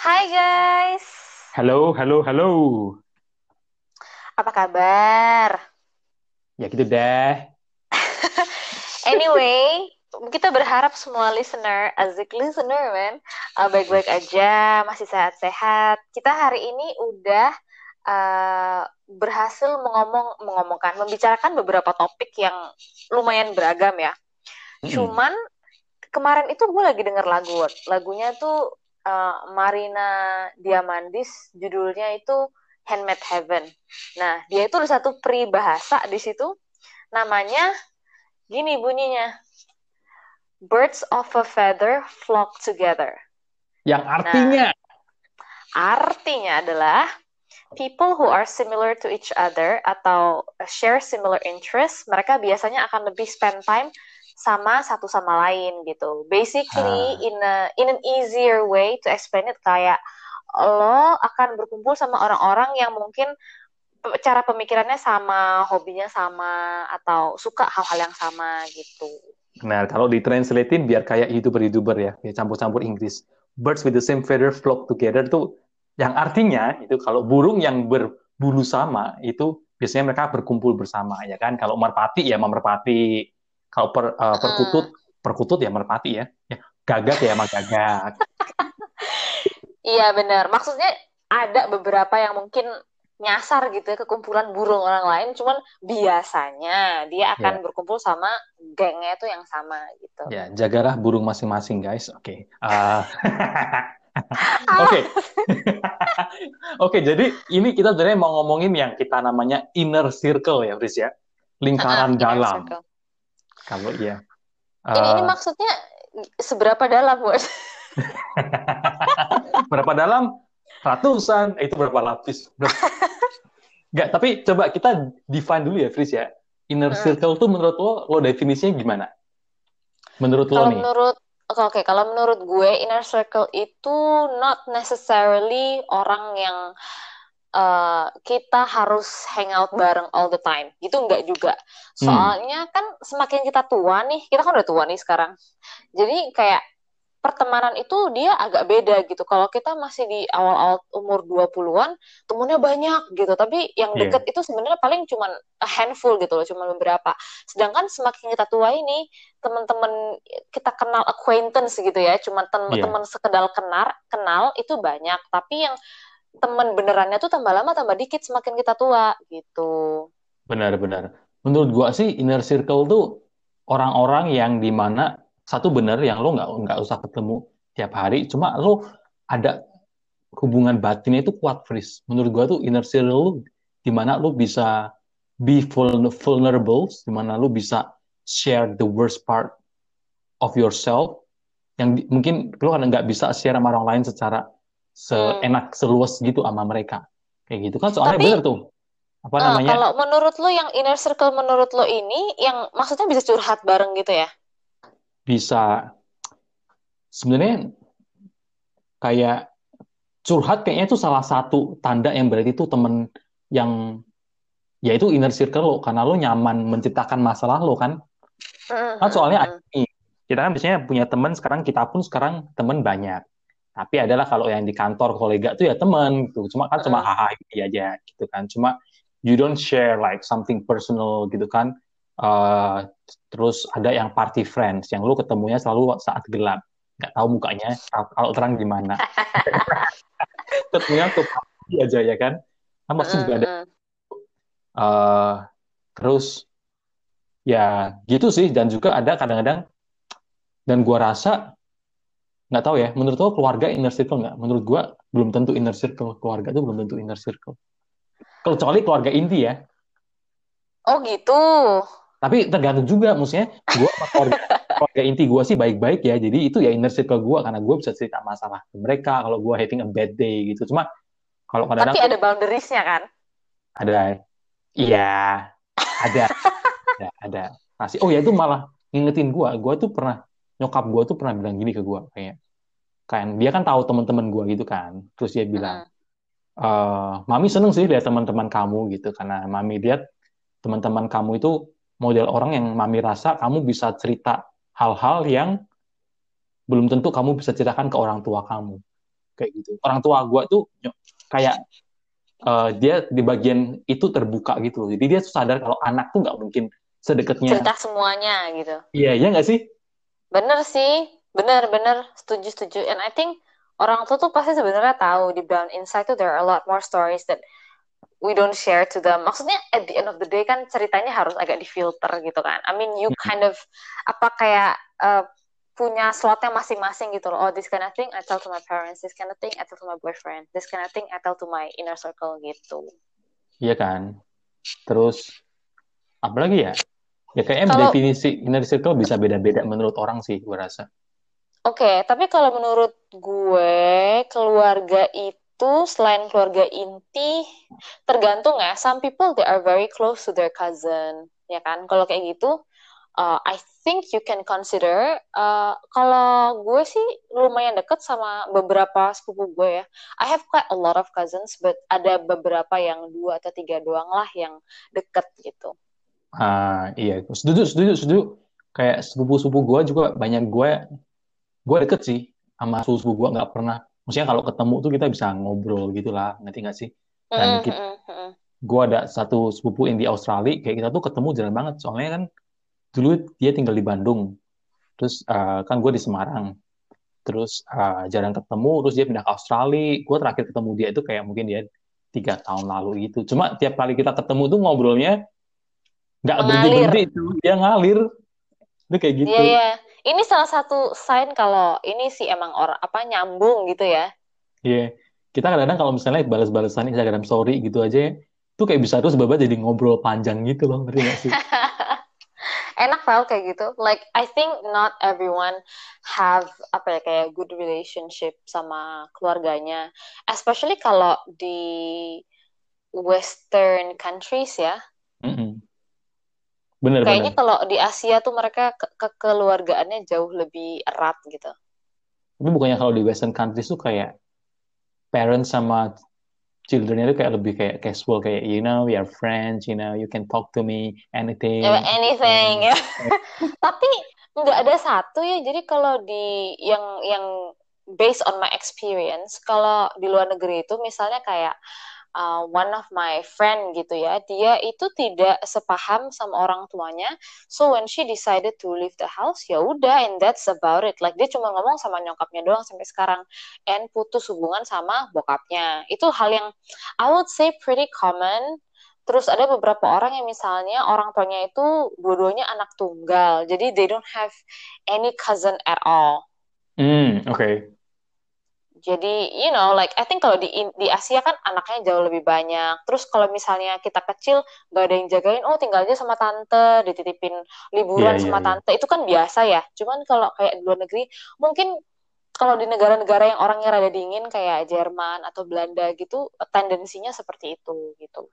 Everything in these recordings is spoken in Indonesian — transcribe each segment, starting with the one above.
Hai guys, Halo, halo, halo. apa kabar? Ya gitu deh. Anyway, kita berharap semua listener, asik listener man, baik-baik aja, masih sehat-sehat. Kita hari ini udah berhasil membicarakan beberapa topik yang lumayan beragam ya. Mm-mm. Cuman kemarin itu gue lagi denger lagunya tuh Marina Diamandis, judulnya itu Handmade Heaven. Nah, dia itu ada satu peribahasa di situ, namanya gini bunyinya, Birds of a feather flock together. Yang Nah, artinya, artinya adalah people who are similar to each other atau share similar interests, mereka biasanya akan lebih spend time sama satu sama lain gitu. Basically, ah, in an easier way to explain it, kayak lo akan berkumpul sama orang-orang yang mungkin cara pemikirannya sama, hobinya sama, atau suka hal-hal yang sama gitu. nah kalau ditranslatein biar kayak YouTuber-YouTuber ya, kayak campur-campur Inggris. Birds with the same feather flock together tuh, yang artinya itu kalau burung yang berbulu sama itu biasanya mereka berkumpul bersama ya kan. Kalau merpati ya sama merpati, kalau Mm-mm. perkutut ya merpati ya. Ya, gagak ya sama gagak. Iya benar. Maksudnya ada beberapa yang mungkin nyasar gitu ya ke kumpulan burung orang lain, cuman biasanya dia akan Ya, berkumpul sama gengnya itu yang sama gitu. ya jagalah burung masing-masing guys. Oke. Oke. Ah, Oke, jadi ini kita sebenarnya mau ngomongin yang kita namanya inner circle ya, Fris ya. Lingkaran inner dalam. circle. Kalau iya. Ini Eh, maksudnya seberapa dalam, buat? berapa dalam? Ratusan. Itu berapa lapis? Enggak, tapi coba kita define dulu ya, Fris ya. Inner circle tuh menurut lo definisinya gimana? Menurut lo Kalau nih? menurut Oke, kalau menurut gue inner circle itu not necessarily orang yang kita harus hang out bareng all the time. Gitu enggak juga. Hmm, Soalnya kan semakin kita tua nih, kita kan udah tua nih sekarang. Jadi kayak pertemanan itu dia agak beda gitu. Kalau kita masih di awal-awal umur 20-an, temennya banyak gitu. Tapi yang iya, deket itu sebenarnya paling cuman a handful gitu loh, cuman beberapa. Sedangkan semakin kita tua ini, teman-teman kita kenal acquaintance gitu ya, cuman iya, teman sekedar kenal itu banyak. Tapi yang temen benerannya tuh tambah lama tambah dikit semakin kita tua gitu. benar-benar. Menurut gua sih inner circle tuh orang-orang yang dimana satu benar yang lo nggak usah ketemu tiap hari, cuma lo ada hubungan batinnya itu kuat, Fris. Menurut gua tuh inner circle lu di mana lu bisa be vulnerable, di mana lu bisa share the worst part of yourself yang mungkin lu kan nggak bisa share sama orang lain secara Hmm. seenak seluas gitu sama mereka. Kayak gitu kan soalnya Tapi bener tuh. Apa namanya? kalau menurut lo yang inner circle menurut lo ini yang maksudnya bisa curhat bareng gitu ya? Bisa sebenarnya kayak curhat kayaknya itu salah satu tanda yang berarti itu temen yang ya itu inner circle lo karena lo nyaman menceritakan masalah lo kan. Kan soalnya ada Mm-mm. nih, kita kan biasanya punya teman, sekarang kita pun sekarang teman banyak. Tapi adalah kalau yang di kantor kolega tuh ya teman gitu. Cuma Mm-mm. hahaha gitu aja gitu kan. Cuma you don't share like something personal gitu kan. Eh, terus ada yang party friends yang lu ketemunya selalu saat gelap. Nggak tahu mukanya, kalau terang gimana. Ketemunya tuh party aja ya kan. Kan pasti juga ada. Mm-mm. eh terus ya gitu sih. Dan juga ada kadang-kadang, dan gua rasa nggak tahu ya, menurut lo keluarga inner circle nggak? Menurut gua belum tentu inner circle. Keluarga itu belum tentu inner circle. Kecuali keluarga inti ya. Oh gitu. Tapi tergantung juga, maksudnya gua sama keluarga inti gua sih baik-baik ya. Jadi itu ya inner circle gua karena gua bisa cerita masalah ke mereka kalau gua having a bad day gitu. Cuma kalau kadang-kadang Tapi tuh ada boundariesnya kan? ada, iya, ada, ada. Masih, oh ya itu malah ngingetin gua tuh pernah, nyokap gua tuh pernah bilang gini ke gua kayak, kan dia kan tahu teman-teman gua gitu kan. Terus dia bilang, Mm-mm. Mami seneng sih lihat teman-teman kamu gitu karena Mami lihat teman-teman kamu itu model orang yang Mami rasa kamu bisa cerita hal-hal yang belum tentu kamu bisa ceritakan ke orang tua kamu. kayak gitu. Orang tua gue tuh kayak dia di bagian itu terbuka gitu loh. Jadi dia tuh sadar kalau anak tuh nggak mungkin sedekatnya. Cerita semuanya gitu. Iya, iya nggak sih? Bener sih, bener-bener setuju setuju. And I think orang tua tuh pasti sebenarnya tahu deep down inside tuh there are a lot more stories that we don't share to them. Maksudnya at the end of the day kan ceritanya harus agak difilter gitu kan. I mean you kind of apa kayak punya slotnya masing-masing gitu loh. Oh, this kind of thing I tell to my parents, this kind of thing I tell to my boyfriend, this kind of thing I tell to my inner circle gitu. Iya kan. Terus apalagi ya? Ya kayaknya Kalau definisi inner circle bisa beda-beda menurut orang sih, gue rasa. oke, tapi kalau menurut gue keluarga itu selain keluarga inti tergantung ya. Some people they are very close to their cousin, ya kan? Kalau kayak gitu, I think you can consider. Kalau gue sih lumayan deket sama beberapa sepupu gue ya. I have quite a lot of cousins, but ada beberapa yang 2 atau 3 doang lah yang deket gitu. Iya, setuju, setuju, setuju. Kayak sepupu-sepupu gue juga banyak gue deket sih sama sepupu gue nggak pernah. Maksudnya kalau ketemu tuh kita bisa ngobrol gitu lah, ngerti nggak sih? Dan Mm-mm, mm-mm, mm-mm. gue ada satu sepupu yang di Australia, kayak kita tuh ketemu jarang banget. Soalnya kan dulu dia tinggal di Bandung, terus kan gue di Semarang. Terus jarang ketemu, terus dia pindah ke Australia. Gue terakhir ketemu dia itu kayak mungkin dia 3 tahun lalu gitu. Cuma tiap kali kita ketemu tuh ngobrolnya nggak berhenti Mengalir. berhenti itu, dia ngalir, itu kayak Iya, gitu. ya. Ini salah satu sign kalau ini sih emang orang apa nyambung gitu ya. Iya, yeah. Kita kadang-kadang kalau misalnya balas-balasan Instagram story gitu aja, tuh kayak bisa terus baba jadi ngobrol panjang gitu loh, ngerti nggak sih? Enak tau kayak gitu. Like I think not everyone have apa ya kayak good relationship sama keluarganya. Especially kalau di Western countries ya. Mm-mm. Kayaknya Bener-bener. kalau di Asia tuh mereka kekeluargaannya jauh lebih erat gitu. Tapi bukannya kalau di Western countries tuh kayak parents sama children itu kayak lebih kayak casual, kayak you know we are friends, you know you can talk to me Ya, anything. anything ya. Tapi nggak ada satu ya. Jadi kalau di yang based on my experience, kalau di luar negeri itu misalnya kayak one of my friend gitu ya, dia itu tidak sepaham sama orang tuanya. So when she decided to leave the house, ya udah, and that's about it. Like dia cuma ngomong sama nyokapnya doang sampai sekarang, and putus hubungan sama bokapnya. Itu hal yang I would say pretty common. Terus ada beberapa orang yang misalnya orang tuanya itu dua-duanya anak tunggal, jadi they don't have any cousin at all. Oke. Jadi, you know, like I think kalau di Asia kan anaknya jauh lebih banyak. Terus kalau misalnya kita kecil gak ada yang jagain, oh tinggal aja sama tante, dititipin Iya, liburan iya, sama iya. tante, itu kan biasa ya. Cuman kalau kayak di luar negeri, mungkin kalau di negara-negara yang orangnya rada dingin kayak Jerman atau Belanda gitu, tendensinya seperti itu gitu.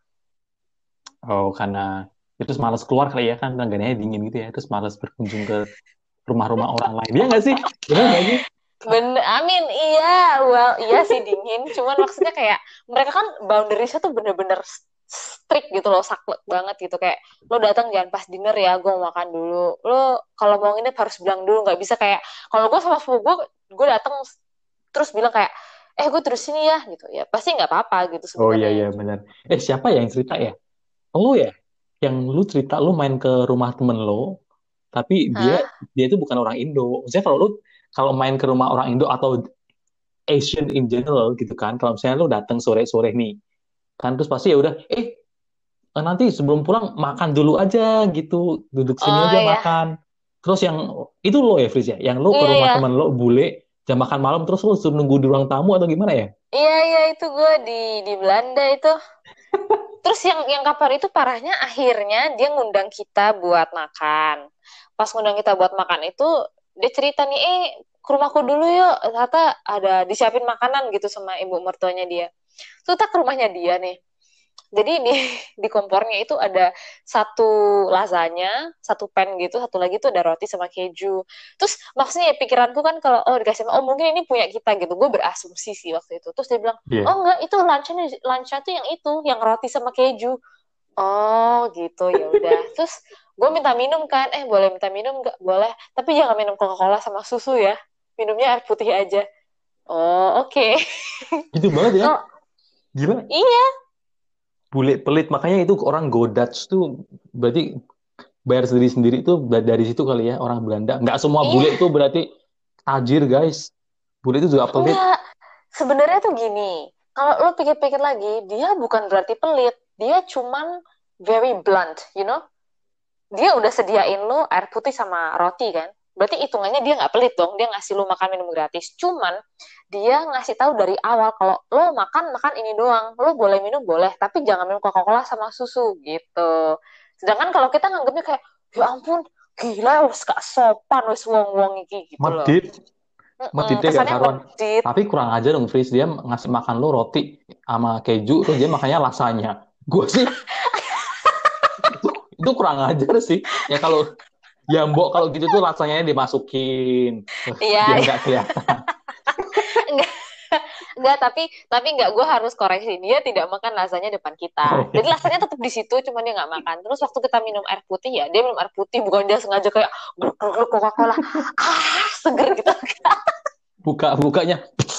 Oh, karena itu terus malas keluar kali ya kan negaranya dingin gitu ya, terus malas berkunjung ke rumah-rumah orang lain. Iya nggak sih? Benar nggak sih? Bener, amin, iya, well, iya sih dingin. Cuman maksudnya kayak mereka kan boundariesnya tuh bener-bener strict gitu loh, saklek banget gitu. Kayak lo datang jangan pas dinner ya, gue mau makan dulu. Lo kalau mau nginep harus bilang dulu, nggak bisa kayak kalau gue sama sepupu gue datang terus bilang kayak, gue terus sini ya gitu ya. Pasti nggak apa-apa gitu Oh iya sebenarnya. iya benar. Siapa ya yang cerita ya? Oh ya, yang lu cerita lu main ke rumah temen lo, tapi dia Hah? dia itu bukan orang Indo. Maksudnya kalau main ke rumah orang Indo atau Asian in general gitu kan, kalau misalnya lu datang sore-sore nih, kan terus pasti ya udah, nanti sebelum pulang makan dulu aja gitu, duduk sini Oh aja ya, makan. Terus yang itu lo ya Fris ya, yang lo ke iya rumah ya, temen lo bule jam makan malam terus lo suruh nunggu di ruang tamu atau gimana ya? iya iya itu gue di Belanda itu. Terus yang kapan itu parahnya akhirnya dia ngundang kita buat makan. Pas ngundang kita buat makan itu dia cerita nih, ke rumahku dulu yuk. Ternyata ada disiapin makanan gitu sama ibu mertuanya dia. Terus kita ke rumahnya dia nih. Jadi di kompornya itu ada satu lasagna, satu pan gitu, satu lagi tuh ada roti sama keju. Terus maksudnya ya pikiranku kan kalau dikasih oh mungkin ini punya kita gitu. Gue berasumsi sih waktu itu. Terus dia bilang, Iya. "Oh enggak, itu lunchnya tuh yang itu, yang roti sama keju." Oh gitu, ya udah. Terus gue minta minum kan, boleh minta minum nggak? Boleh, tapi jangan minum Coca-Cola sama susu ya. Minumnya air putih aja. Oh, oke. Gitu banget ya. Kalau Gila. iya, Bule pelit. Makanya itu orang Godats tuh berarti bayar sendiri-sendiri itu dari situ kali ya orang Belanda. Nggak semua iya, bule itu berarti tajir guys. Bule itu juga pelit. enggak. Sebenarnya tuh gini, kalau lo pikir-pikir lagi, dia bukan berarti pelit. Dia cuman very blunt, you know? Dia udah sediain lo air putih sama roti kan? Berarti hitungannya dia nggak pelit dong. Dia ngasih lo makan minum gratis. Cuman dia ngasih tahu dari awal kalau lo makan makan ini doang. Lo boleh minum boleh, tapi jangan minum Coca-Cola sama susu gitu. Sedangkan kalau kita nganggapnya kayak, ya ampun, gila, wes gak sopan, wes wong-wong iki gitu loh. Medit. Meditnya gak Kesannya karuan. medit. Tapi kurang aja dong, Fris. Dia ngasih makan lo roti sama keju, terus dia makannya lasanya. Gue sih, itu kurang ajar sih. Ya kalau, ya mbok kalau gitu tuh rasanya dimasukin. Biar Iya, nggak kelihatan. enggak, enggak, tapi enggak, gue harus koreksi. Dia tidak makan lasanya depan kita. Oh, Jadi iya. lasanya tetap di situ, cuma dia nggak makan. Terus waktu kita minum air putih ya, dia minum air putih, bukan dia sengaja kayak gluk Coca-Cola. Ah, seger gitu. Bukanya.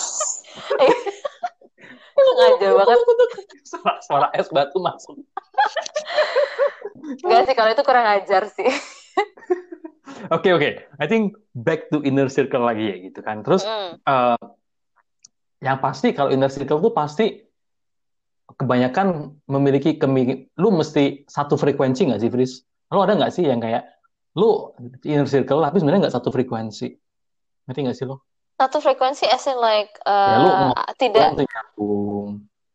Sengaja banget. Suara es batu masuk. Enggak sih, kalau itu kurang ajar sih. Oke. I think back to inner circle lagi ya gitu kan. Terus Mm. eh, yang pasti kalau inner circle tuh pasti kebanyakan memiliki lu mesti satu frekuensi nggak sih, Fris? Lu ada nggak sih yang kayak lu inner circle tapi sebenarnya nggak satu frekuensi? Ngerti nggak sih lo? Satu frekuensi as in like Ya lu ngobrol tidak tuh nyambung.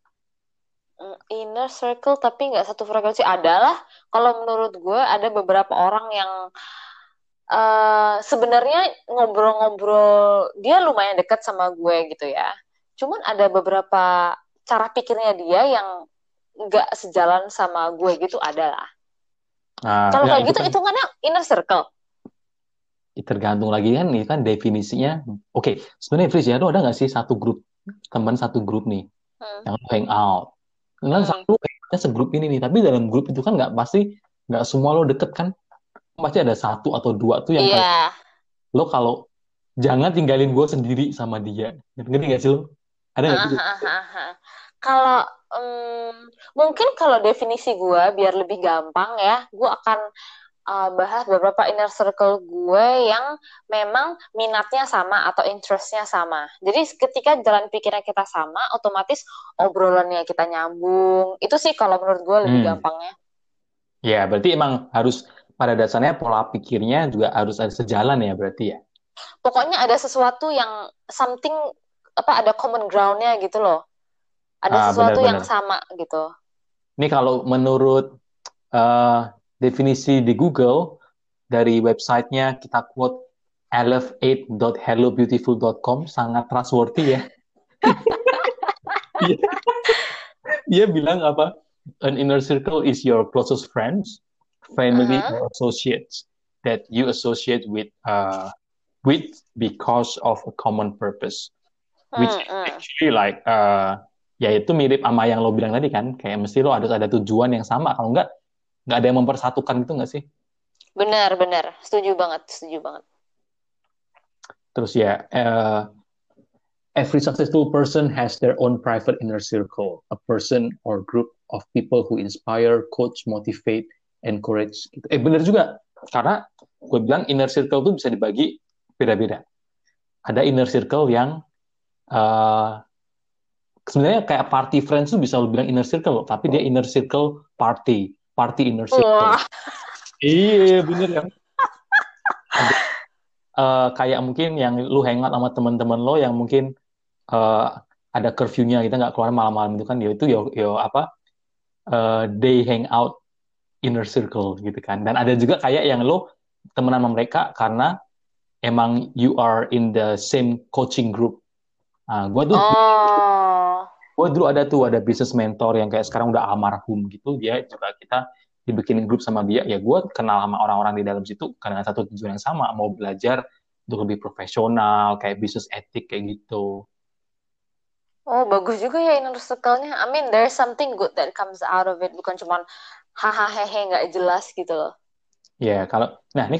inner circle tapi nggak satu frekuensi adalah kalau menurut gue ada beberapa orang yang sebenarnya ngobrol-ngobrol dia lumayan dekat sama gue gitu ya. Cuman ada beberapa cara pikirnya dia yang nggak sejalan sama gue gitu adalah. Nah, Kalau ya kayak itu gitu kan hitungannya inner circle. tergantung lagi kan, ini kan definisinya. Oke, sebenarnya Fris ya, lu ada nggak sih satu grup teman satu grup nih Hmm. yang lu hang out? Kan Hmm. satu kayaknya segrup ini nih, tapi dalam grup itu kan nggak pasti nggak semua lo deket kan? Pasti ada satu atau dua tuh yang kayak Iya. lo kalau jangan tinggalin gue sendiri sama dia. Ngerti nggak sih lo? Ada nggak sih? Ah, ah, ah, ah. Kalau mungkin kalau definisi gue biar lebih gampang ya, gue akan bahas beberapa inner circle gue yang memang minatnya sama atau interestnya sama. Jadi ketika jalan pikirnya kita sama, otomatis obrolannya kita nyambung. Itu sih kalau menurut gue lebih Hmm, gampangnya. ya berarti emang harus pada dasarnya pola pikirnya juga harus ada sejalan ya berarti ya. Pokoknya ada sesuatu yang something apa ada common groundnya gitu loh. Ada Ah, sesuatu yang benar-benar. sama gitu. Ini kalau menurut eh, definisi di Google dari websitenya kita quote elevate.hellobeautiful.com sangat trustworthy ya. Dia, dia bilang apa? An inner circle is your closest friends, family Uh-huh. or associates that you associate with because of a common purpose, which Hmm, is hmm. actually like ya itu mirip sama yang lo bilang tadi kan, kayak mesti lo harus ada tujuan yang sama, kalau nggak ada yang mempersatukan gitu nggak sih? Benar, benar. Setuju banget, setuju banget. Terus ya, every successful person has their own private inner circle, a person or group of people who inspire, coach, motivate, encourage. Gitu. Bener juga, karena gue bilang inner circle itu bisa dibagi beda-beda. Ada inner circle yang uh, sebenarnya kayak party friends tuh bisa lo bilang inner circle, tapi dia inner circle party inner circle. Wah, Iya, bener ya. Ada kayak mungkin yang lu hangout sama teman-teman lo yang mungkin eh, ada curfew-nya kita nggak keluar malam-malam itu kan ya itu yo apa they hang out inner circle gitu kan dan ada juga kayak yang lo temenan sama mereka karena emang you are in the same coaching group. Nah, oh, dulu ada business mentor yang kayak sekarang udah almarhum gitu dia juga kita dibikinin grup sama dia ya gue kenal sama orang-orang di dalam situ karena satu tujuan yang sama mau belajar untuk lebih profesional kayak business etik kayak gitu. oh, bagus juga ya inner circle-nya. I mean, there's something good that comes out of it. Bukan cuma hahaha hehe nggak jelas gitu loh. Ya, kalau nah ini kalau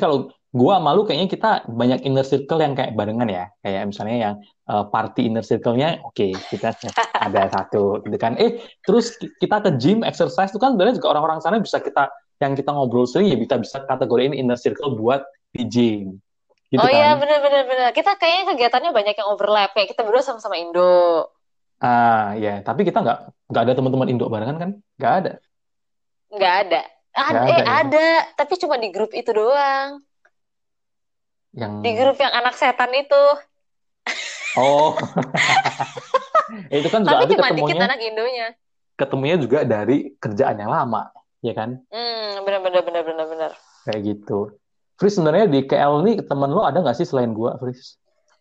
gua malu kayaknya kita banyak inner circle yang kayak barengan ya. Kayak misalnya yang party inner circle-nya, oke, kita ada satu gitu kan. Terus kita ke gym, exercise itu kan sebenarnya juga orang-orang sana bisa kita, yang kita ngobrol sering ya bisa bisa kategoriin inner circle buat di gym. Gitu Oh iya, kan. bener-bener. Bener. Kita kayaknya kegiatannya banyak yang overlap. Kayak kita berdua sama-sama Indo. Ya, tapi kita nggak ada teman-teman Indo barengan kan? Nggak ada. Nggak ada. Nggak ada ya. Ada. Tapi cuma di grup itu doang. Yang Di grup yang anak setan itu. oh, itu kan juga Tapi nanti cuma dikit ketemunya anak Indonya. ketemunya juga dari kerjaan yang lama, ya kan? Bener-bener. Bener-bener. Bener. Kayak gitu. Fris, sebenarnya di KL nih teman lo ada nggak sih selain gua, Fris?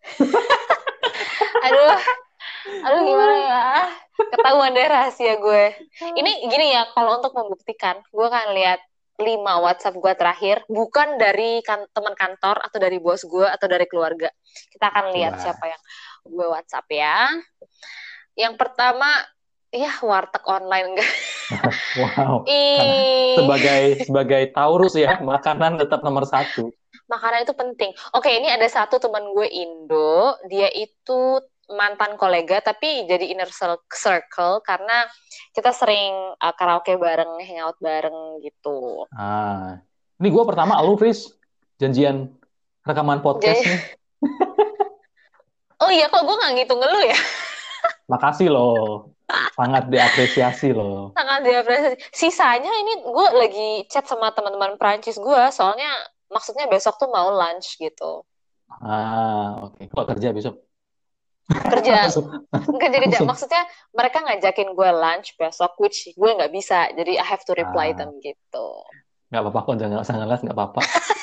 Aduh, aduh gimana ya? Ketahuan deh rahasia gue. Ini gini ya, kalau untuk membuktikan, gue akan lihat 5 WhatsApp gue terakhir, bukan dari teman kantor atau dari bos gue atau dari keluarga. Kita akan lihat Coba. siapa yang gue WhatsApp ya. Yang pertama, ya warteg online enggak. Wow. Karena Ih, sebagai sebagai Taurus ya, makanan tetap nomor satu. makanan itu penting. Oke, ini ada satu teman gue Indo, dia itu mantan kolega tapi jadi inner circle karena kita sering karaoke bareng, hangout bareng gitu. Ah, ini gua pertama lu, Fris, janjian rekaman podcast Jadi, nih. oh iya kok gue nggak ngitung lu ya? Makasih loh, sangat diapresiasi loh. Sangat diapresiasi. Sisanya ini gue lagi chat sama teman-teman Prancis gue, soalnya maksudnya besok tuh mau lunch gitu. Oke. Kok kerja besok? Kerja, Langsung, kerja-kerja. langsung. Maksudnya mereka ngajakin gue lunch besok, which gue nggak bisa. Jadi I have to reply Ah, them gitu. nggak apa-apa kok, jangan nggak usah ngeles, nggak apa-apa.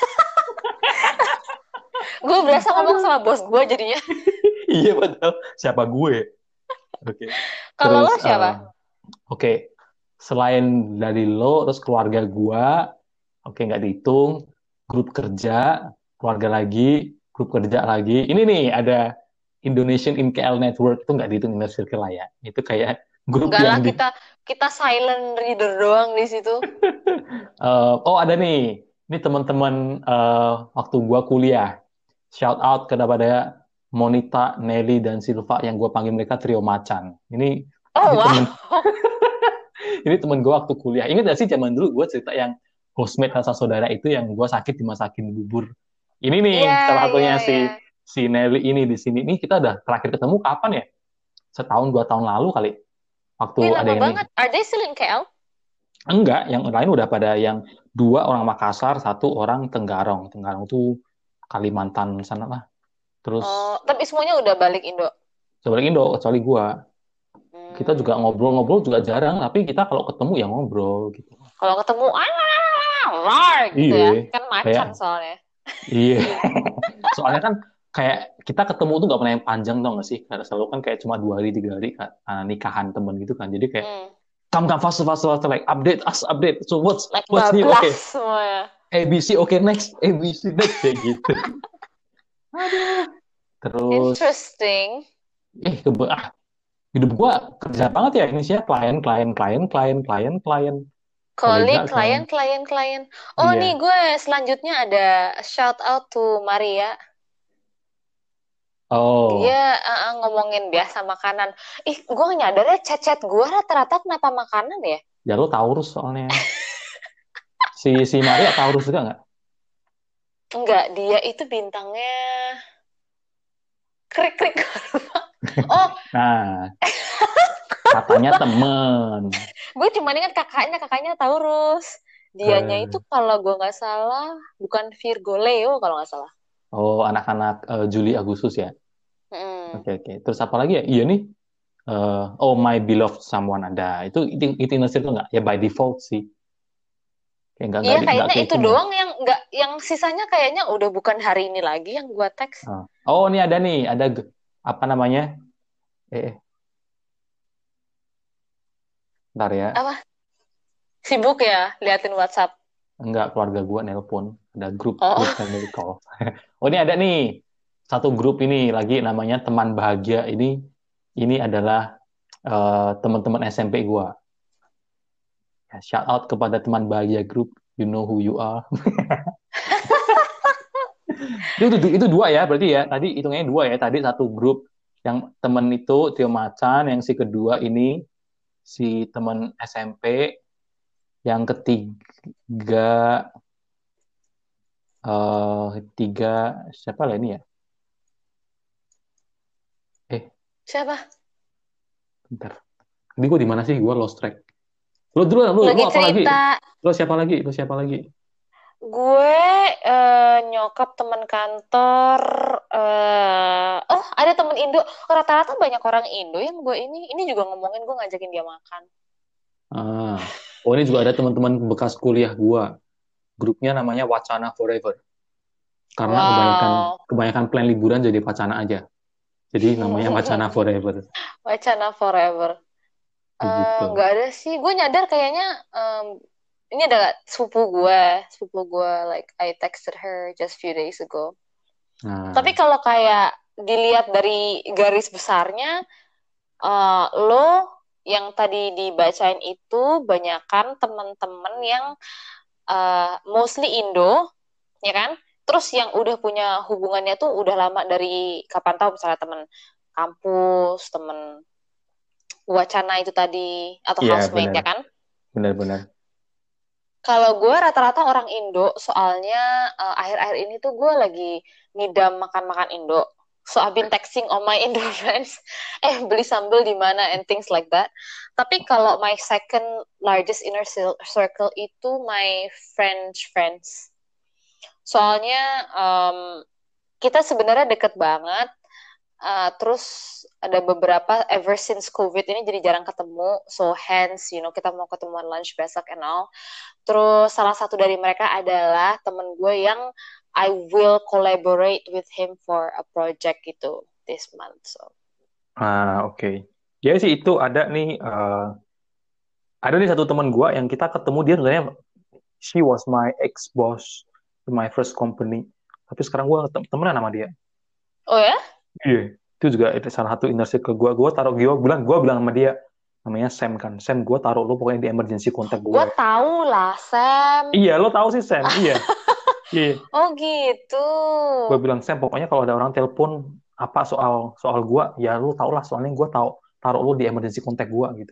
Gue berasa ngomong Aduh. sama bos gue jadinya. Iya betul. Siapa gue? Oke. Kalau Terus, lo siapa? oke. Selain dari lo, terus keluarga gua, oke nggak dihitung. Grup kerja, keluarga lagi, grup kerja lagi. Ini nih ada Indonesian in KL Network, itu nggak dihitung inner circle lah ya. Itu kayak grup Enggak lah, yang di. kita kita silent reader doang di situ. Oh ada nih. Ini teman-teman waktu gua kuliah. Shout out kepada Monita, Nelly, dan Silva yang gue panggil mereka trio macan. Oh Ini temen wow. ini temen gue waktu kuliah. Ingat gak sih zaman dulu gue cerita yang housemate rasa saudara itu yang gue sakit dimasakin bubur. Ini nih Iya, salah iya, satunya iya. si si Nelly ini di sini. Ini kita udah terakhir ketemu kapan ya? Setahun 2 tahun lalu kali. Waktu Wih, ada lama yang ini. banget. Are they still in KL? Enggak, yang lain udah pada yang dua orang Makassar, satu orang Tenggarong. Tenggarong tuh Kalimantan sana lah. Terus Oh, tapi semuanya udah balik Indo. coba Indo, kecuali gua. Kita juga Hmm. ngobrol-ngobrol juga jarang, tapi kita kalau ketemu ya ngobrol gitu. Kalau ketemu, rar gitu Iya, ya. Kan kayak macan soalnya. iya. Soalnya kan kayak kita ketemu tuh nggak pernah yang panjang tau gak sih? Karena selalu kan kayak cuma 2 hari 3 hari kan, nikahan temen gitu kan. Jadi kayak Hmm. come faster faster faster like update us update. So Like what's new? bablas Oke, semuanya. ABC oke next ABC next kayak gitu. Aduh. Terus Interesting. eh kebe ah, hidup gua kerja banget ya ini sih ya klien klien klien klien klien klien kolega Colleague, klien. klien. Oh nih Iya. gue selanjutnya ada shout out to Maria. Dia Oh, ngomongin biasa makanan. Ih, gue gak nyadar ya chat-chat gue rata-rata kenapa makanan ya? ya lu Taurus soalnya. Si Maria Taurus juga nggak? Enggak, dia itu bintangnya krik-krik. Oh, Nah, katanya temen. gue cuma ingat kakaknya Taurus. Dianya itu Eh, kalau gue nggak salah bukan Virgo Leo kalau nggak salah. oh, anak-anak Juli Agustus ya. Mm. Oke, oke. Terus apa lagi ya? Iya nih. Oh, My Beloved Someone ada. Itu inner circle nggak? Ya by default sih. Kayak Iya, nggak kayaknya itu kehitung ya. doang yang nggak, yang sisanya kayaknya udah bukan hari ini lagi yang gue teks. Oh, ini ada nih. Ada apa namanya? Eh, Ntar ya. Apa? Sibuk ya liatin WhatsApp. Enggak, keluarga gua nelpon. Ada grup Oh, family call. Oh, ini ada nih. Satu grup ini lagi namanya teman bahagia. Ini adalah teman-teman SMP gua. Ya, shout out kepada teman bahagia grup. You know who you are. Itu dua ya, berarti ya. Tadi hitungnya dua ya. Tadi satu grup yang temen itu Tio Macan, yang si kedua ini si temen SMP, yang ketiga tiga siapa lah ini ya? Eh, Siapa? bentar. Tadi gue di mana sih? Gue lost track. Lu Lagi apa lagi? cerita. Lu siapa lagi? Lu siapa lagi? Gue nyokap teman kantor. Oh, ada temen Indo. Rata-rata banyak orang Indo yang gue ini juga ngomongin gue ngajakin dia makan. Ah, oh ini juga ada teman-teman bekas kuliah gua. Grupnya namanya Wacana Forever. Karena kebanyakan Wow. kebanyakan plan liburan jadi wacana aja. Jadi namanya Wacana Forever. Wacana forever. Begitu. Nggak ada sih. Gue nyadar kayaknya ini ada sepupu gue. Like I texted her just few days ago. Tapi Nah, kalau kayak dilihat dari garis besarnya, lo yang tadi dibacain itu banyakan teman-teman yang mostly Indo, ya kan? Terus yang udah punya hubungannya tuh udah lama dari kapan tahu misalnya teman kampus, teman wacana itu tadi atau iya housemate benar, ya kan? benar-benar. Kalau gue rata-rata orang Indo, soalnya akhir-akhir ini tuh gue lagi ngidam makan-makan Indo. So I've been texting all my Indo friends, beli sambal di mana and things like that. Tapi kalau my second largest inner circle itu my French friends. Soalnya kita sebenarnya deket banget. Terus ada beberapa ever since COVID ini jadi jarang ketemu. So hence, kita mau ketemuan lunch besok and all. Terus salah satu dari mereka adalah temen gue yang I will collaborate with him for a project gitu this month. So. Oke. Ya sih itu ada nih satu teman gua yang kita ketemu dia sebenarnya she was my ex boss in my first company. Tapi sekarang gua temenan sama dia. Oh ya? Iya. Itu juga itu salah satu inner circle gua. Gua bilang sama dia namanya Sam kan. Sam, gua taruh lu pokoknya di emergency contact Gue gue. tahu lah, Sam. Iya, lo tahu sih Sam. Iya. Iya. Oh gitu. Gue bilang Sam, pokoknya kalau ada orang telepon apa soal soal gua, ya lu tau lah soalnya gua tahu taruh lu di emergency contact gua gitu.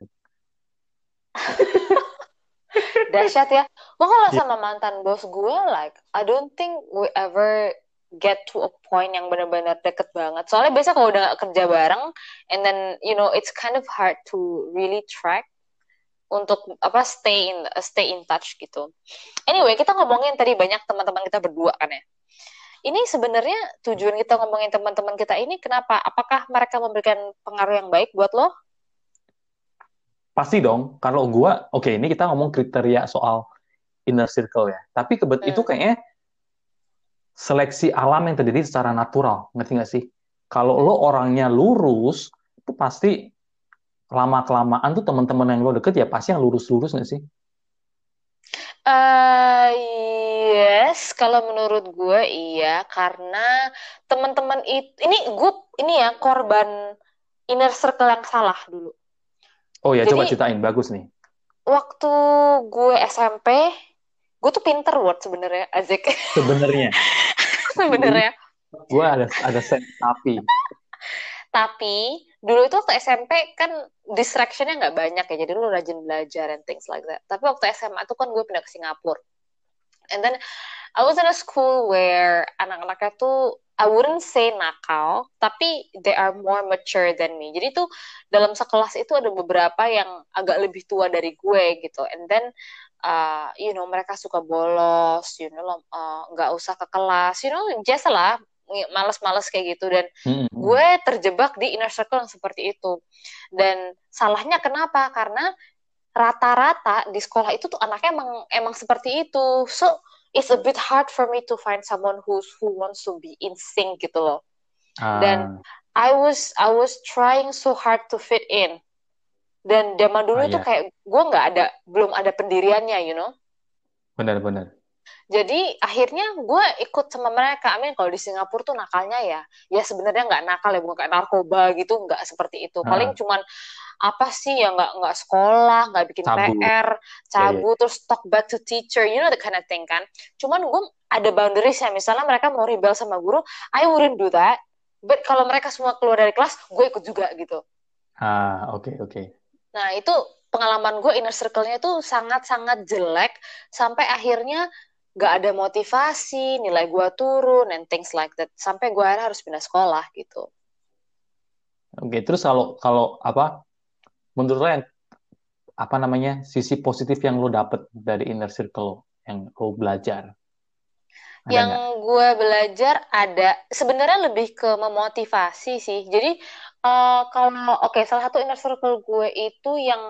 Dahsyat ya. Gue kalau Iya. sama mantan bos gue, like, I don't think we ever get to a point yang benar-benar deket banget. Soalnya biasa kalau udah gak kerja bareng, and then, it's kind of hard to really track untuk apa stay in touch gitu. Anyway, kita ngomongin tadi banyak teman-teman kita berdua kan ya. Ini sebenarnya tujuan kita ngomongin teman-teman kita ini kenapa? Apakah mereka memberikan pengaruh yang baik buat lo? Pasti dong. Kalau gua, oke, ini kita ngomong kriteria soal inner circle ya. Tapi itu Hmm. kayaknya seleksi alam yang terjadi secara natural, ngerti nggak sih? Kalau lo orangnya lurus, itu pasti lama-kelamaan tuh teman-teman yang lo deket ya pasti yang lurus-lurus nggak sih? Eh, yes, kalau menurut gue iya karena teman-teman itu ini ya korban inner circle yang salah dulu. Oh ya, coba Jadi ceritain, bagus nih. waktu gue SMP, gue tuh pinter word sebenarnya, Azik. Sebenarnya, Sebenarnya. gue ada set tapi. Tapi dulu itu waktu SMP kan distractionnya nggak banyak ya, jadi lu rajin belajar and things like that. Tapi waktu SMA tuh kan gue pindah ke Singapura. And then I was in a school where anak-anaknya tuh I wouldn't say nakal, tapi they are more mature than me. Jadi tuh dalam sekelas itu ada beberapa yang agak lebih tua dari gue gitu. And then mereka suka bolos, nggak usah ke kelas, biasa lah, males-males kayak gitu. Dan Mm-mm. gue terjebak di inner circle yang seperti itu. Dan salahnya kenapa? Karena rata-rata di sekolah itu tuh anaknya emang seperti itu. So it's a bit hard for me to find someone who wants to be in sync gitu loh. Dan Ah, I was trying so hard to fit in. Dan zaman dulu itu ya, kayak gue belum ada pendiriannya. benar-benar. Jadi akhirnya gue ikut sama mereka. Amin kalau di Singapura tuh nakalnya ya sebenarnya nggak nakal ya, bukan kayak narkoba gitu, nggak seperti itu. Paling Ah, cuman apa sih ya nggak sekolah, nggak bikin cabut. PR, Ya, ya. cabut terus talk back to teacher, the kind of thing kan. Cuman gue ada boundaries ya. Misalnya mereka mau rebel sama guru, I wouldn't do that. But kalau mereka semua keluar dari kelas, gue ikut juga gitu. Oke, oke. Nah, itu pengalaman gue inner circle-nya tuh sangat-sangat jelek sampai akhirnya gak ada motivasi, nilai gue turun, and things like that. Sampai gue akhirnya harus pindah sekolah gitu. Oke, terus kalau kalau apa menurut lo yang apa namanya sisi positif yang lo dapet dari inner circle yang lo belajar ada Yang nggak? gue belajar ada sebenarnya lebih ke memotivasi sih. Jadi kalau oke, salah satu inner circle gue itu yang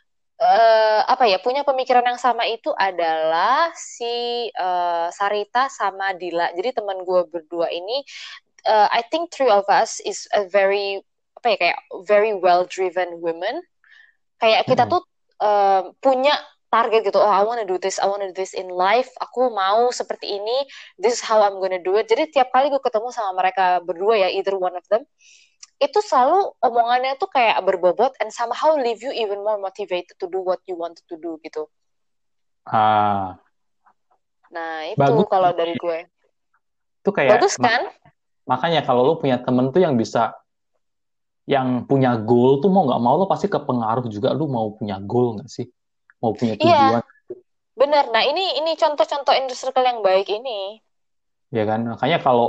apa ya punya pemikiran yang sama itu adalah si Sarita sama Dila. Jadi teman gue berdua ini, I think three of us is a very apa ya kayak very well driven women. Kayak kita Mm-mm. tuh punya target gitu. Oh, I wanna do this, I wanna do this in life. Aku mau seperti ini. This is how I'm gonna do it. Jadi tiap kali gue ketemu sama mereka berdua ya, either one of them, itu selalu omongannya tuh kayak berbobot and somehow leave you even more motivated to do what you wanted to do gitu. Ah, Nah, itu bagus. kalau dari gue. Itu kayak Bagus kan? makanya kalau lo punya temen tuh yang bisa yang punya goal tuh mau nggak mau lo pasti kepengaruh juga lo mau punya goal nggak sih? Mau punya Iya, tujuan, benar. Nah, ini contoh-contoh inner circle yang baik ini. ya kan? Makanya kalau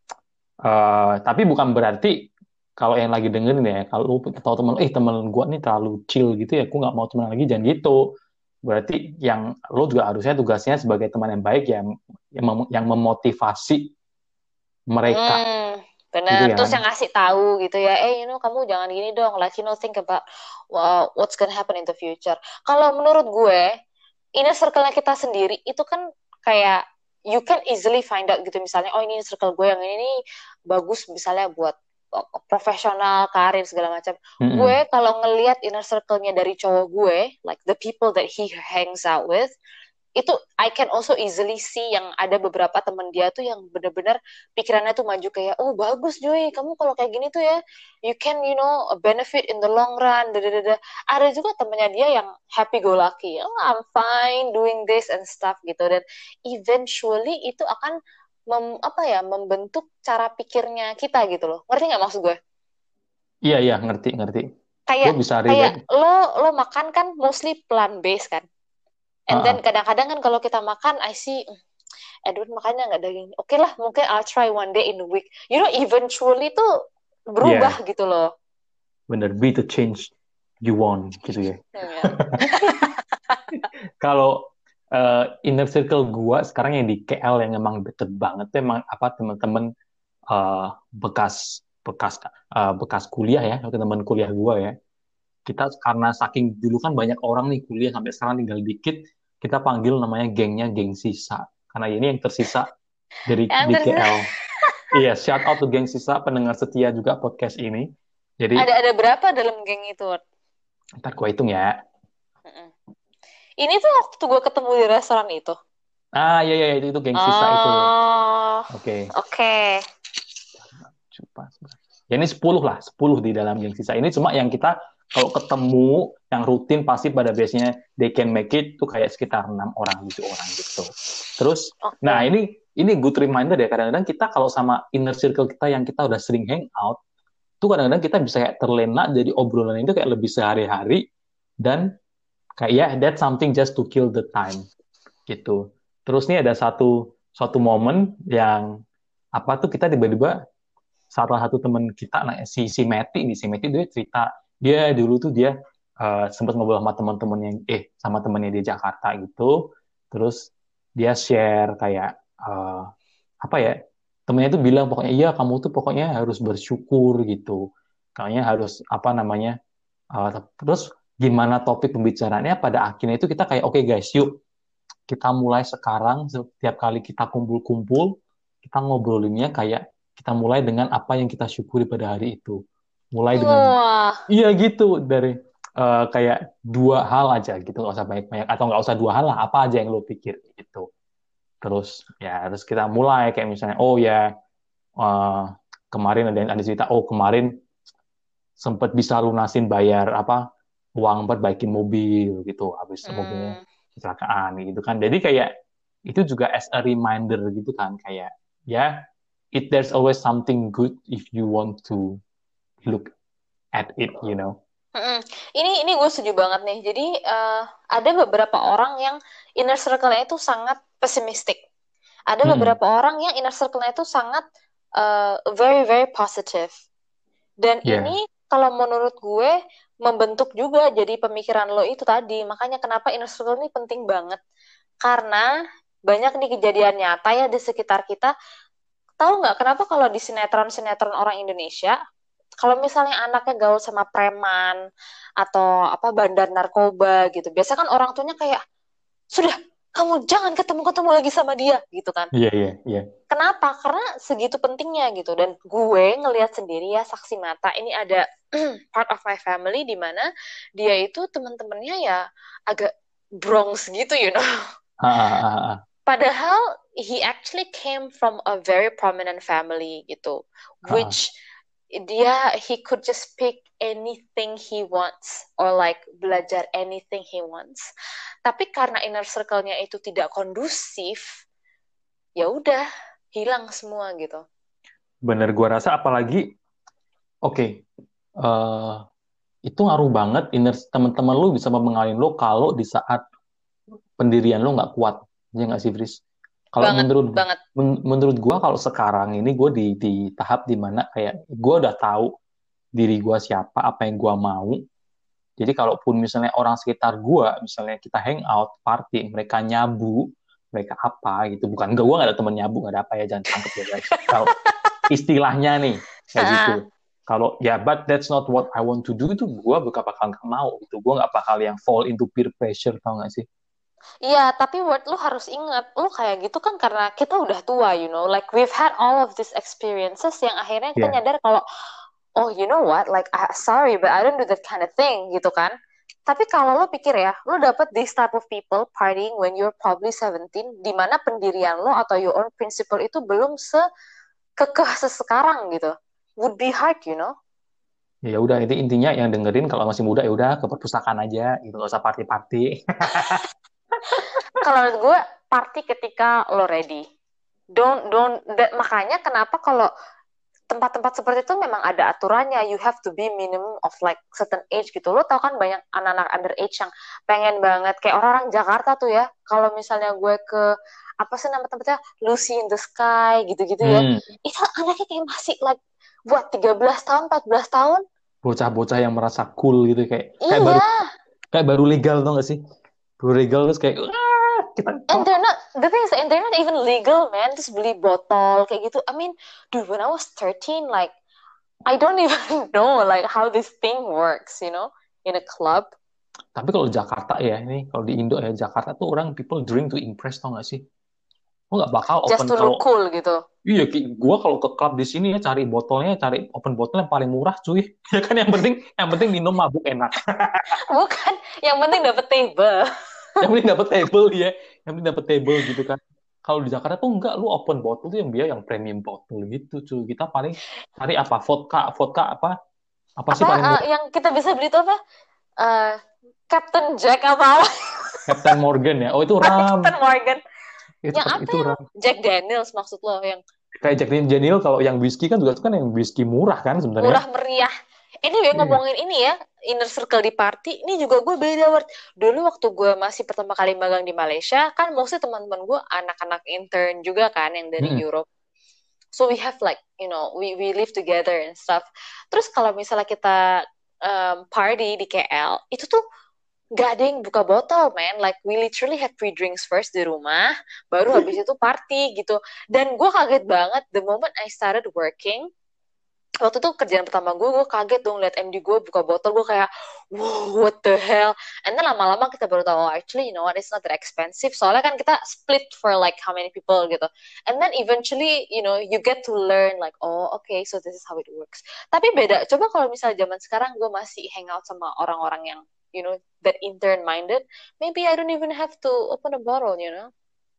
tapi bukan berarti kalau yang lagi dengerin ya, kalau lu tahu temen, temen gua nih terlalu chill gitu ya, aku nggak mau teman lagi, jangan gitu. Berarti yang lu juga harusnya tugasnya sebagai teman yang baik ya, yang memotivasi mereka Hmm, gitu benar. ya Terus kan? yang ngasih tahu gitu ya, kamu jangan gini dong, like think about what's gonna happen in the future. Kalau menurut gue, inner circle-nya kita sendiri itu kan kayak you can easily find out gitu misalnya, oh ini circle gue yang ini nih bagus misalnya buat profesional, karir segala macam. Gue Mm-mm. kalau ngelihat inner circle-nya dari cowok gue, like the people that he hangs out with, itu I can also easily see yang ada beberapa temen dia tuh yang bener-bener pikirannya tuh maju kayak oh bagus Joy kamu kalau kayak gini tuh ya you can benefit in the long run dadadada. Ada juga temennya dia yang happy go lucky, oh I'm fine doing this and stuff gitu, dan eventually itu akan apa ya membentuk cara pikirnya kita gitu loh, ngerti nggak maksud gue? Iya, iya, ngerti, ngerti. Gue kayak bisa kayak relate. lo makan kan mostly plant based kan, and then Heeh. kadang-kadang kan kalau kita makan I see Edward makanya nggak daging. Oke lah, mungkin I'll try one day in a week. Eventually tuh Iya, berubah gitu loh. bener. Be the change you want gitu ya. Ya. Kalau inner circle gua sekarang yang di KL yang emang deket banget tuh emang apa teman-teman bekas bekas bekas kuliah ya, teman kuliah gua ya. Kita karena saking dulu kan banyak orang nih kuliah sampai sekarang tinggal dikit, kita panggil namanya gengnya geng sisa. Karena ini yang tersisa dari Yang di tersisa KL. Iya, shout out to geng sisa pendengar setia juga podcast ini. Jadi ada berapa dalam geng itu? Ward? ntar gua hitung ya. Mm-mm. Ini tuh waktu gue ketemu di restoran itu. Iya, iya, itu geng sisa itu. Oh, Oke. oke. Coba, coba. Ya ini 10 lah, 10 di dalam geng sisa. Ini cuma yang kita kalau ketemu yang rutin pasti pada biasanya they can make it tuh kayak sekitar 6 orang, 7 orang gitu. Terus, nah Oke. ini good reminder ya, kadang-kadang kita kalau sama inner circle kita yang kita udah sering hang out, tuh kadang-kadang kita bisa kayak terlena jadi obrolan itu kayak lebih sehari-hari dan kayak ya that's something just to kill the time gitu. Terus nih ada suatu momen yang apa tuh kita tiba-tiba salah satu teman kita, nah si Meti dia cerita dia dulu tuh dia sempat ngobrol sama teman-temannya sama temannya di Jakarta gitu, terus dia share kayak apa ya temennya tuh bilang pokoknya iya kamu tuh pokoknya harus bersyukur gitu, kayaknya harus apa namanya terus gimana topik pembicaraannya pada akhirnya itu kita kayak oke guys yuk kita mulai sekarang setiap kali kita kumpul-kumpul kita ngobrolinnya kayak kita mulai dengan apa yang kita syukuri pada hari itu. Mulai dengan Wah, iya gitu dari kayak dua hal aja gitu nggak usah banyak-banyak atau nggak usah dua hal lah apa aja yang lo pikir gitu. Terus ya terus kita mulai kayak misalnya oh ya eh, kemarin ada cerita oh kemarin sempat bisa lunasin bayar apa uang buat baikin mobil gitu habis mobilnya hmm, kecelakaan gitu kan jadi kayak itu juga as a reminder gitu kan, kayak ya there's always something good if you want to look at it, you know. Mm-mm. Ini gue setuju banget nih. Jadi ada beberapa orang yang inner circle-nya itu sangat pesimistik. Ada Mm-mm. beberapa orang yang inner circle-nya itu sangat very very positive. Dan Ya, ini kalau menurut gue membentuk juga jadi pemikiran lo itu tadi. Makanya kenapa inner circle ini penting banget. Karena banyak nih kejadian nyata ya di sekitar kita. Tahu nggak kenapa kalau di sinetron-sinetron orang Indonesia, kalau misalnya anaknya gaul sama preman atau apa bandar narkoba gitu, biasa kan orang tuanya kayak, sudah, kamu jangan ketemu-ketemu lagi sama dia gitu kan. iya, iya, iya. Kenapa? Karena segitu pentingnya gitu. Dan gue ngelihat sendiri ya saksi mata ini ada part of my family di mana dia itu teman-temannya ya agak Bronx gitu, you know. Ah, ah, ah, ah, Padahal he actually came from a very prominent family gitu, ah, ah. which he could just pick anything he wants or like belajar anything he wants. Tapi karena inner circle-nya itu tidak kondusif, ya udah hilang semua gitu. Bener, gua rasa apalagi, oke, eh, itu ngaruh banget teman-teman lu bisa mempengaruhi lu kalau di saat pendirian lu nggak kuat, ya nggak sih, Fris? Kalau Banget banget. menurut gua kalau sekarang ini gue di tahap dimana kayak gue udah tahu diri gua siapa, apa yang gua mau. Jadi kalaupun misalnya orang sekitar gua, misalnya kita hangout, party, mereka nyabu, mereka apa gitu, bukan gua nggak ada temen nyabu, nggak ada apa ya, jangan tangkep ya guys. Kalau istilahnya nih kayak gitu. Kalau ya, but that's not what I want to do, itu gue gak bakal nggak mau gitu. Gue nggak bakal yang fall into peer pressure, tau gak sih? Iya, tapi what lu harus ingat, lu kayak gitu kan karena kita udah tua, you know, like we've had all of these experiences yang akhirnya kita Ya, nyadar kalau oh, you know what? Like, sorry, but I don't do that kind of thing, gitu kan? Tapi kalau lo pikir ya, lo dapet this type of people partying when you're probably 17, di mana pendirian lo atau your own principle itu belum sekekeh sesekarang gitu. Would be hard, you know? ya udah, itu intinya yang dengerin kalau masih muda ya udah ke perpustakaan aja gitu, gak usah party-party. Kalau menurut gue, party ketika lo ready. Makanya kenapa kalau tempat-tempat seperti itu memang ada aturannya. You have to be minimum of like certain age gitu. Lo tau kan banyak anak-anak underage yang pengen banget kayak orang-orang Jakarta tuh ya. Kalau misalnya gue ke apa sih nama tempatnya Lucy in the Sky gitu-gitu ya. Hmm, Itu anaknya kayak masih like buat 13 tahun, 14 tahun. bocah-bocah yang merasa cool gitu, kayak Iya, kayak baru legal, tau gak sih? Baru legal terus kayak "Wah, kita and they're not, the thing is, and they're not even legal, man. Terus beli botol kayak gitu. I mean, dude, when I was 13, like, I don't even know like how this thing works, you know, in a club. Tapi kalau Jakarta ya, ini kalau di Indo ya, Jakarta tuh orang people drink to impress, tau gak sih? Gue nggak bakal Just open to look kalau cool gitu. iya, gue kalau ke klub di sini ya cari botolnya, cari open botol yang paling murah, cuy. Ya kan, yang penting minum mabuk enak. Bukan, yang penting dapet table. Yang penting dapat table ya, yang penting dapat table gitu kan. Kalau di Jakarta tuh enggak, lu open botol tuh yang dia yang premium botol gitu, cuy. Kita paling cari apa, vodka, vodka apa sih Apa paling murah? yang kita bisa beli itu apa? Eh, Captain Jack apa? Captain Morgan ya. Oh, itu ram. Captain Morgan. Itu Yang apa itu yang ram. Jack Daniels maksud lo yang Kayak Jack Daniel, kalau yang whisky kan juga itu kan yang whisky murah kan sebenarnya. murah meriah. Anyway, Iya. ngomongin ini ya, inner circle di party, ini juga gue beda, Ward. Dulu waktu gue masih pertama kali magang di Malaysia, kan mostly teman-teman gue anak-anak intern juga kan, yang dari Mm-mm. Europe. So we have like, you know, we live together and stuff. Terus kalau misalnya kita party di KL, itu tuh gak ada yang buka botol, man. Like, we literally have pre-drinks first di rumah, baru habis itu party gitu. Dan gue kaget banget, the moment I started working, waktu itu kerjaan pertama gue kaget dong liat MD gue buka botol, gue kayak, wow, what the hell. And then lama-lama kita baru tahu, oh, actually, you know what, it's not that expensive. Soalnya kan kita split for like how many people gitu. And then eventually, you know, you get to learn like, oh, okay, so this is how it works. Tapi beda, coba kalau misalnya zaman sekarang gue masih hangout sama orang-orang yang, you know, that intern minded, maybe I don't even have to open a bottle, you know.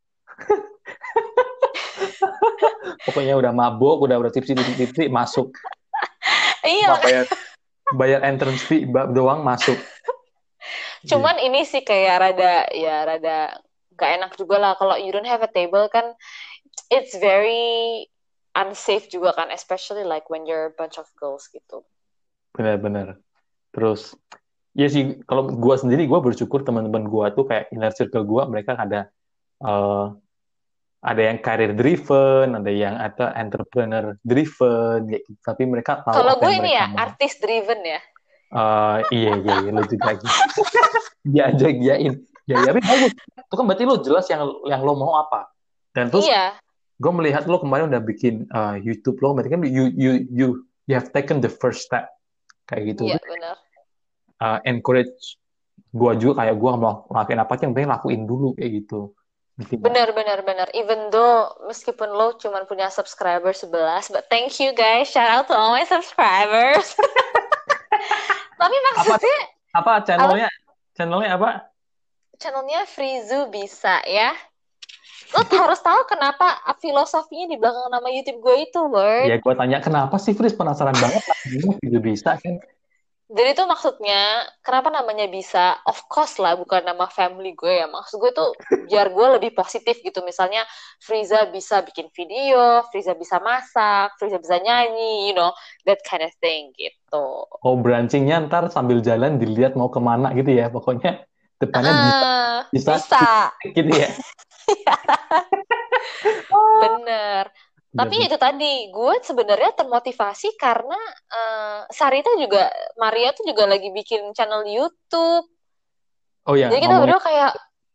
Pokoknya udah mabuk, udah tipsi masuk. Iya, Cuma bayar entrance fee doang masuk. Iya. cuman ini sih kayak rada gak enak juga lah kalau you don't have a table kan, it's very unsafe juga kan, especially like when you're a bunch of girls gitu. Benar-benar. Terus ya sih, kalau gue sendiri, gue bersyukur teman-teman gue tuh kayak inner circle gue, mereka eh, ada yang career driven, ada entrepreneur driven, kayak gitu. Tapi mereka tahu Kalau apa gue yang ini mereka ya mau. artis driven ya. Iya iya iya, lu juga gitu. Dia aja giain. Ya ya, tapi bagus. Itu kan berarti lu jelas yang lo mau apa. Dan terus Iya, gue melihat lo kemarin udah bikin YouTube lo, berarti kan you have taken the first step kayak gitu. iya Terus, benar. encourage gue juga, kayak gue mau ngelakuin apa aja, yang penting lakuin dulu kayak gitu. Ngerti nggak? Benar, benar, benar. Even though meskipun lo cuman punya subscriber 11, but thank you guys. Shout out to all my subscribers. Tapi Apa maksudnya, apa apa channelnya? Channelnya apa? channelnya Frizu bisa ya? Lo harus tahu kenapa filosofinya di belakang nama YouTube gue itu, Ya Word. gue tanya kenapa sih, Fris, penasaran banget lah. Juga bisa kan? Jadi itu maksudnya, kenapa namanya bisa? Of course lah, bukan nama family gue ya. Maksud gue tuh, biar gue lebih positif gitu. Misalnya, Friza bisa bikin video, Friza bisa masak, Friza bisa nyanyi, that kind of thing gitu. Oh, branchingnya ntar sambil jalan dilihat mau kemana gitu ya. Pokoknya depannya bisa, bisa Bisa. gitu ya. Bener. Tapi Bener. itu tadi, gue sebenarnya termotivasi karena Sarita juga, Maria tuh juga lagi bikin channel YouTube. Oh ya, Jadi kita ngomongin. berdua kayak,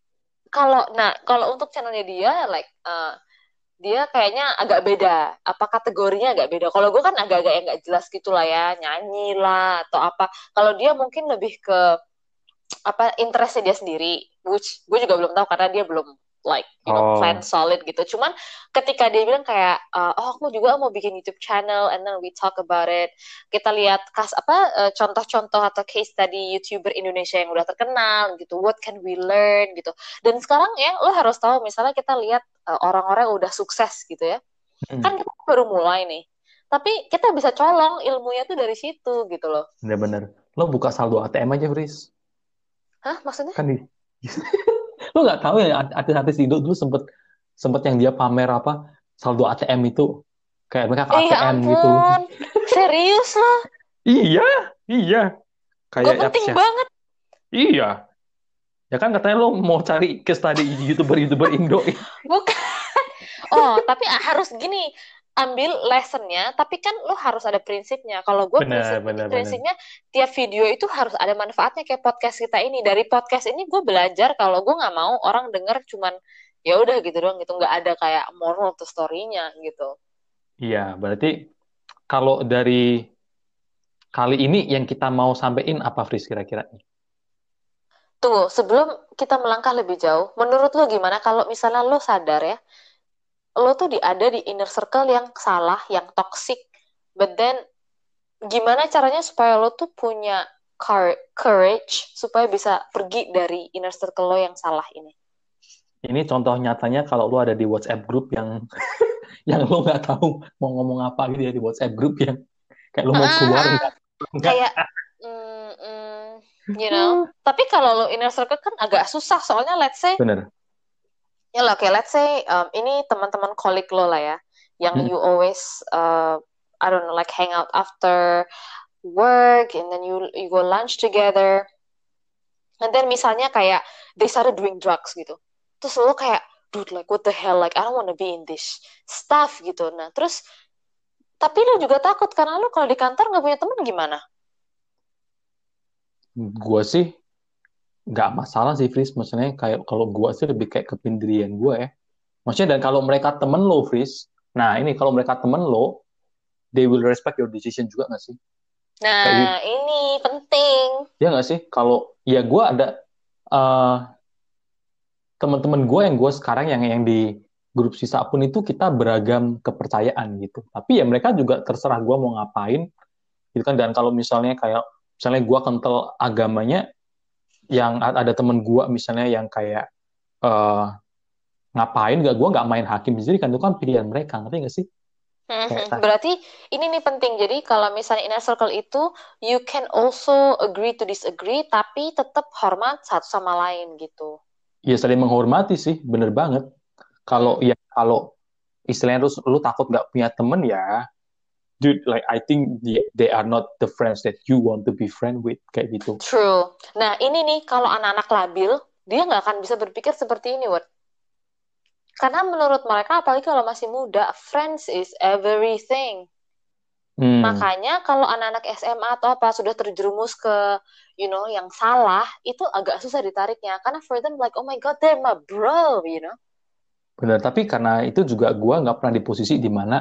kalau untuk channelnya dia, like, dia kayaknya agak beda. Apa kategorinya agak beda. Kalau gue kan agak-agak yang nggak jelas gitu lah ya, nyanyi lah atau apa. Kalau dia mungkin lebih ke apa interestnya dia sendiri, which gue juga belum tahu karena dia belum like plan Oh, solid gitu. Cuman ketika dia bilang kayak oh aku juga mau bikin YouTube channel and then we talk about it. Kita lihat contoh-contoh atau case tadi YouTuber Indonesia yang udah terkenal gitu. What can we learn gitu. Dan sekarang ya lo harus tahu misalnya kita lihat orang-orang yang udah sukses gitu ya. mm, Kan kita baru mulai nih. Tapi kita bisa colong ilmunya tuh dari situ gitu loh. bener-bener. Lo buka saldo ATM aja, Fris. Hah, maksudnya? Kan di... Lo nggak tahu ya, artis-artis Indo dulu sempet sempet yang dia pamer apa saldo ATM itu, kayak mereka ke Ya ATM gitu. ampun, serius loh. Iya, iya. Gue Kayak apa penting sih? banget. Iya. Ya kan katanya lo mau cari case study YouTuber Indo. Bukan. Oh, tapi harus gini, ambil lessonnya, tapi kan lo harus ada prinsipnya. Kalau gue Benar, benar, benar. prinsipnya tiap video itu harus ada manfaatnya kayak podcast kita ini. Dari podcast ini gue belajar kalau gue nggak mau orang denger cuman ya udah gitu doang gitu, nggak ada kayak moral to story-nya gitu. Iya, berarti kalau dari kali ini yang kita mau sampaikan apa, Fris, kira-kira? Tuh, sebelum kita melangkah lebih jauh, menurut lo gimana kalau misalnya lo sadar ya, lo tuh ada di inner circle yang salah, yang toxic, but then gimana caranya supaya lo tuh punya courage supaya bisa pergi dari inner circle lo yang salah ini? Ini contoh nyatanya kalau lo ada di WhatsApp group yang yang lo nggak tahu mau ngomong apa gitu ya, di WhatsApp group yang kayak lo mau keluar nggak nggak. Kayak, mm, mm, tapi kalau lo inner circle kan agak susah, soalnya let's say, Bener. ya lah, okay, let's say ini teman-teman colleague lo lah ya, yang Mm, you always, I don't know, like hang out after work, and then you go lunch together. And then misalnya kayak they started doing drugs gitu. Terus lo kayak, dude, like what the hell, like I don't wanna be in this stuff gitu. Nah, terus tapi lo juga takut karena lo kalau di kantor nggak punya teman gimana? gue sih nggak masalah sih, Fris. Maksudnya kayak kalau gue sih lebih kayak kependirian gue ya. Maksudnya, dan kalau mereka temen lo, Fris, nah ini kalau mereka temen lo, they will respect your decision juga nggak sih? Kayak gitu. Nah, ini penting. Ya nggak sih? Kalau ya gue ada eh, teman-teman gue yang gue sekarang yang di grup sisa pun itu kita beragam kepercayaan gitu. Tapi ya mereka juga terserah gue mau ngapain gitu kan. Dan kalau misalnya gue kental agamanya, yang ada temen gue misalnya yang kayak eh, ngapain gak, gue nggak main hakim sendiri kan, itu kan pilihan mereka, ngerti nggak sih? Kayak Berarti ini nih penting. Jadi kalau misalnya inner circle itu, you can also agree to disagree, tapi tetap hormat satu sama lain gitu. Ya saling menghormati sih, bener banget. Kalau Hmm. ya kalau istilahnya lu takut nggak punya temen ya, dude, like I think they are not the friends that you want to be friend with kayak gitu. True. Nah, ini nih, kalau anak-anak labil, dia nggak akan bisa berpikir seperti ini, Word. Karena menurut mereka, apalagi kalau masih muda, friends is everything. Hmm, Makanya kalau anak-anak SMA atau apa sudah terjerumus ke, yang salah, itu agak susah ditariknya. Karena for them like, oh my God, they're my bro. bener. Tapi karena itu juga gua nggak pernah di posisi di mana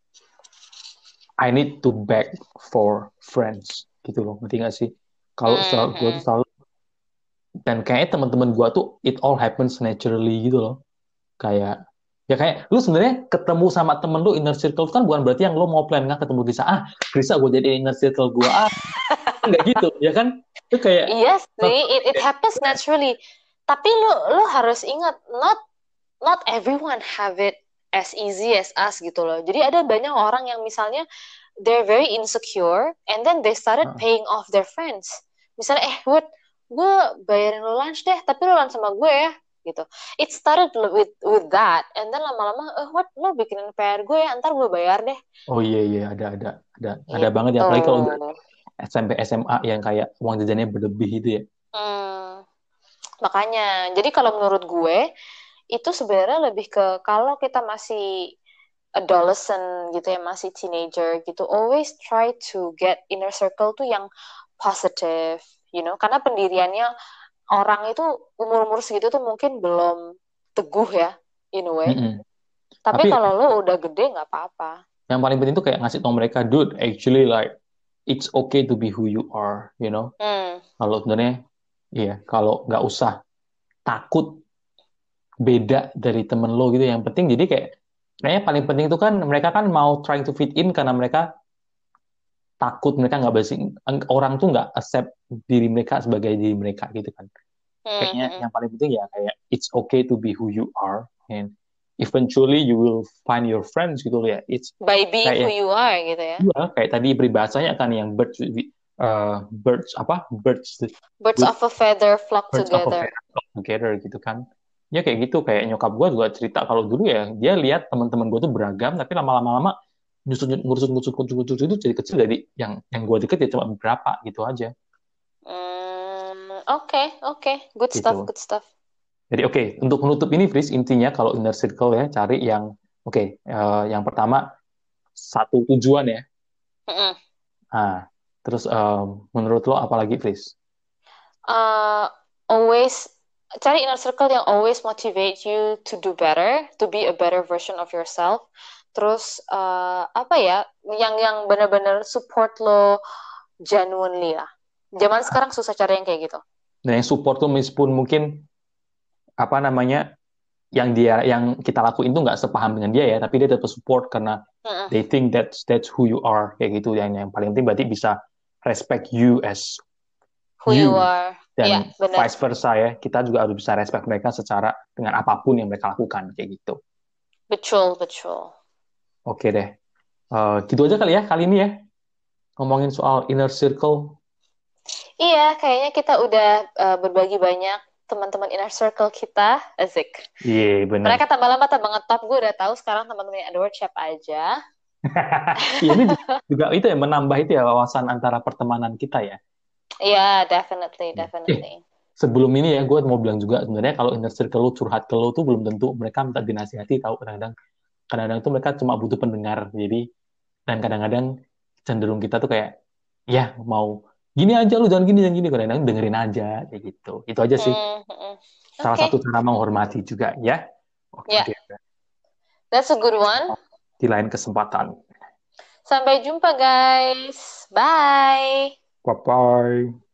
I need to beg for friends gitu loh, ngerti nggak sih? Kalau selalu gue tuh Mhm. selalu dan kayaknya teman-teman gue tuh it all happens naturally gitu loh. Kayak ya kayak lu sebenarnya ketemu sama temen lu inner circle kan bukan berarti yang lu mau plan nggak ketemu Grisa Grisa gue jadi inner circle gue nggak gitu ya kan itu kayak Iya sih, it happens naturally. Tapi lu harus ingat, not not everyone have it as easy as us gitu loh. Jadi ada banyak orang yang misalnya they're very insecure and then they started paying off their friends. Misalnya, Wood, gue bayarin lo lunch deh, tapi lo lunch sama gue ya, gitu. It started with that, and then lama-lama, Wood, lo bikinin PR gue ya, ntar gue bayar deh, oh iya iya ada banget ya gitu. apalagi kalau udah SMP SMA yang kayak uang jajannya berlebih itu ya. Hmm, makanya, jadi kalau menurut gue, itu sebenarnya lebih ke kalau kita masih adolescent gitu ya, masih teenager gitu, always try to get inner circle tuh yang positive, karena pendiriannya orang itu umur-umur segitu tuh mungkin belum teguh ya, in a way. Mm-mm. Tapi Tapi kalau lo udah gede nggak apa-apa. yang paling penting tuh kayak ngasih tau mereka dude actually like it's okay to be who you are you know. Hmm, Kalau sebenarnya iya kalau nggak usah takut beda dari temen lo gitu. Yang penting jadi kayak kayaknya paling penting itu kan mereka kan mau trying to fit in karena mereka takut mereka nggak basi orang tuh nggak accept diri mereka sebagai diri mereka gitu kan. hmm, Kayaknya hmm. yang paling penting ya kayak it's okay to be who you are and eventually you will find your friends gitu loh ya. It's By being who kayak you are gitu ya. ya kayak tadi peribahasanya kan yang birds apa birds Birds with of a feather flock birds of a together. feather flock together gitu kan. Ya kayak gitu kayak nyokap gue juga cerita kalau dulu ya dia lihat teman-teman gue tuh beragam tapi lama-lama nyusut ngurusut ngurusut ngurusut ngurusut itu jadi kecil dari yang gue deket ya cuma beberapa gitu aja Oke, oke. Good stuff, gitu. good stuff. Jadi oke, untuk menutup ini Fris intinya kalau inner circle ya cari yang oke, yang pertama satu tujuan ya. Mm-mm. Nah, terus menurut lo apa lagi Fris? uh, Always cari inner circle yang always motivate you to do better, to be a better version of yourself. Terus apa ya, yang benar-benar support lo genuinely lah. Zaman sekarang susah cari yang kayak gitu. Dan yang support tuh meskipun mungkin apa namanya yang kita lakuin tuh nggak sepaham dengan dia ya, tapi dia tetap support karena Mm-mm. they think that's who you are kayak gitu. Yang paling penting berarti bisa respect you as Who you you are. Ya, dan benar. vice versa ya. Kita juga harus bisa respect mereka secara dengan apapun yang mereka lakukan kayak gitu. Betul, betul. Oke deh. Gitu aja kali ya kali ini ya ngomongin soal inner circle. Iya, kayaknya kita udah berbagi banyak teman-teman inner circle kita. Asik. Iya bener. Mereka tambah lama tambah ngetop. Gue udah tahu sekarang teman-teman Edward siapa aja. Iya ini juga itu ya menambah itu ya wawasan antara pertemanan kita ya. Iya, definitely, Iya. definitely. Sebelum ini ya gue mau bilang juga sebenarnya kalau inner circle lu curhat ke lu tuh belum tentu mereka minta dinasihati tahu kadang-kadang tuh mereka cuma butuh pendengar jadi dan kadang-kadang cenderung kita tuh kayak ya mau gini aja lu jangan gini kadang-kadang dengerin aja kayak gitu itu aja sih Hmm, hmm, hmm. salah Oke, satu cara menghormati juga ya oke ya, deh that's a good one. di lain kesempatan Sampai jumpa, guys. Bye. bye bye